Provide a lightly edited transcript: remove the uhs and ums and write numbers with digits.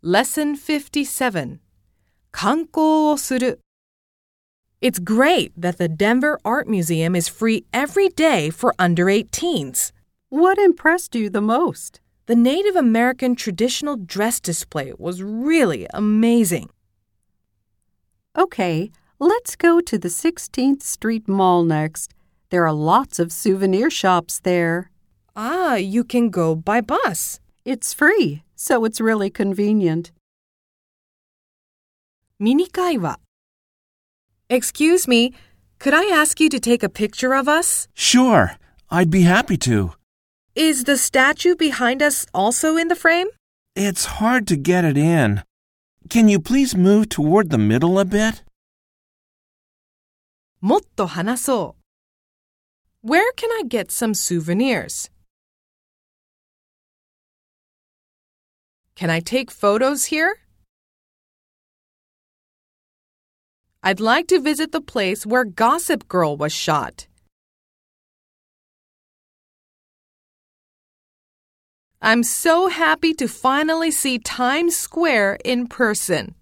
Lesson 57. 観光をする. It's great that the Denver Art Museum is free every day for under 18s. What impressed you the most? The Native American traditional dress display was really amazing. Okay, let's go to the 16th Street Mall next. There are lots of souvenir shops there. You can go by bus. It's free, so it's really convenient. ミニ会話. Excuse me, could I ask you to take a picture of us? Sure, I'd be happy to. Is the statue behind us also in the frame? It's hard to get it in. Can you please move toward the middle a bit? もっと話そう. Where can I get some souvenirs? Can I take photos here? I'd like to visit the place where Gossip Girl was shot. I'm so happy to finally see Times Square in person.